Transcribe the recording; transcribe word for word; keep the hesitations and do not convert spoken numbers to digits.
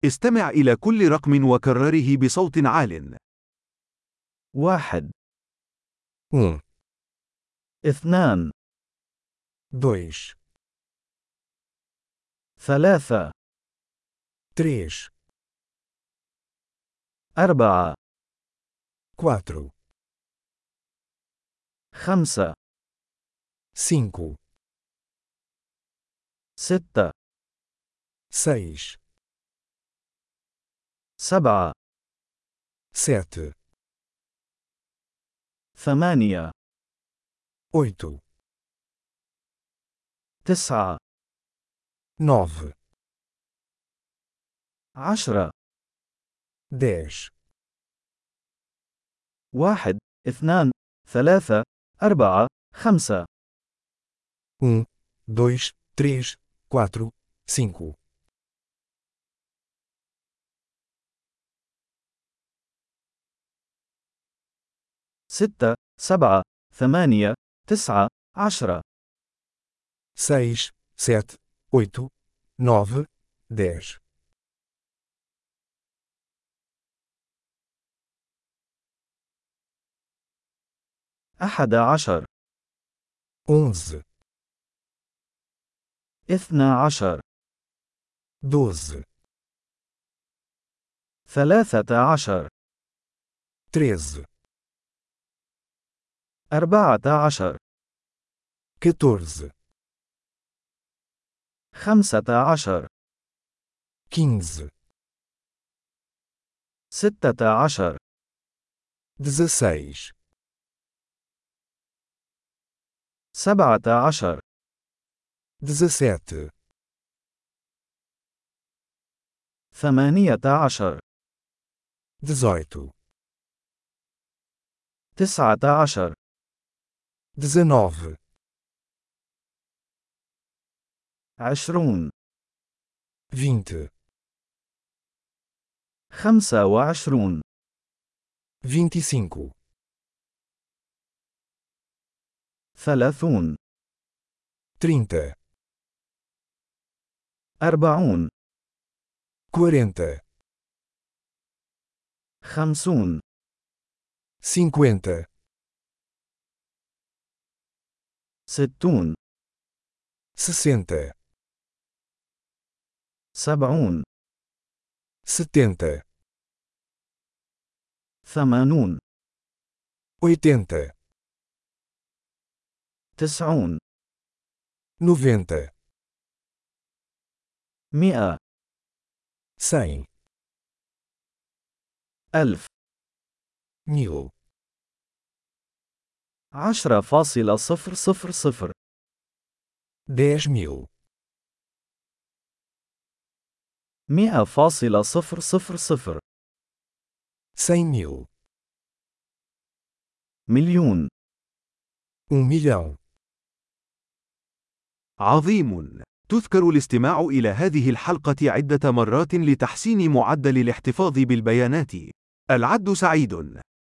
استمع إلى كل رقم وكرره بصوت عال. واحد، Um, اثنان، dois, ثلاثة، três, أربعة، quatro, خمسة، cinco, ستة، seis, سبعة، sete, ثمانية، oito, تسعة، nove, عشرة، dez, واحد، اثنان، ثلاثة، أربعة، خمسة، um, dois, três, quatro, cinco, ستة، سبعة، ثمانية، تسعة، عشرة، seis, sete, oito, nove, dez, أحد عشر، onze, اثنا عشر، doze, ثلاثة عشر، treze, أربعة عشر، quatorze, خمسة عشر، quinze, ستة عشر، dezesseis, سبعة عشر، dezessete, ثمانية عشر، dezoito, تسعة عشر، dezenove, عشرون، vinte, خمسة وعشرون، vinte e cinco, ثلاثون، trinta, أربعون، quarenta, خمسون، cinquenta, ستون، sessenta, سبعون، setenta, ثمانون، oitenta, تسعون، noventa, مئة، cem, ألف، mil, عشرة فاصلة صفر صفر صفر، dez mil, مئة فاصلة صفر صفر صفر، cem mil, مليون. um milhão. عظيم! تذكر الاستماع إلى هذه الحلقة عدة مرات لتحسين معدل الاحتفاظ بالبيانات. العد سعيد.